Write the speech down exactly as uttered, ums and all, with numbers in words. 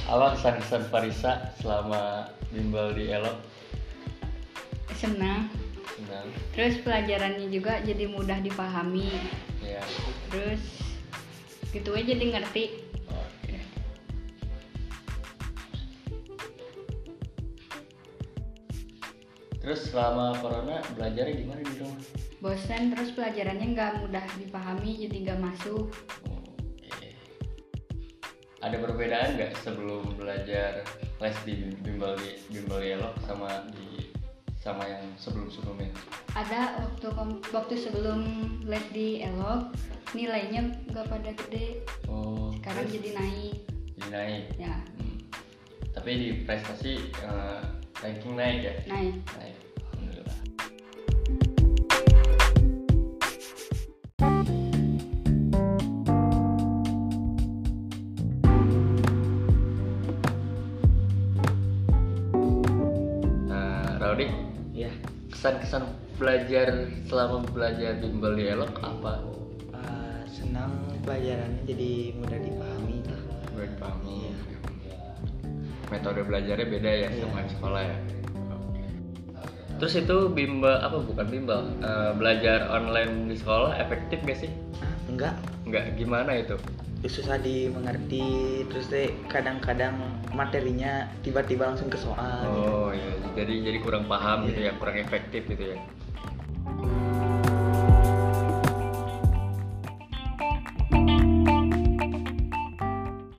Apa kesan-kesan Farisa selama bimbel di Elok? Senang. Senang. Terus pelajarannya juga jadi mudah dipahami. Iya. Terus gitu aja jadi ngerti. Oke. Terus selama corona belajarnya gimana di rumah? Bosan, terus pelajarannya nggak mudah dipahami jadi nggak masuk. Oke. Ada perbedaan nggak sebelum belajar les di bimbel di bimbel di Elok sama di sama yang sebelum-sebelumnya? Ada waktu waktu sebelum les di Elok nilainya nggak pada gede. Oh. Sekarang terus jadi naik. jadi naik. Ya, Hmm. Tapi di prestasi eh, ranking naik ya? naik. Naik. Alhamdulillah. Nah, Rodi, Ya, kesan-kesan belajar selama belajar bimbel di Elok apa? uh, senang pelajarannya jadi mudah dipahami lah. Gue dipahami. Metode belajarnya beda ya Iya. sama di sekolah ya. Terus itu bimbel apa bukan bimbel? Eh, belajar online di sekolah efektif gak sih? Ah, enggak, Enggak, gimana itu? susah dimengerti, terus deh kadang-kadang materinya tiba-tiba langsung ke soal. Oh iya, jadi jadi kurang paham gitu Iya. ya, kurang efektif gitu ya.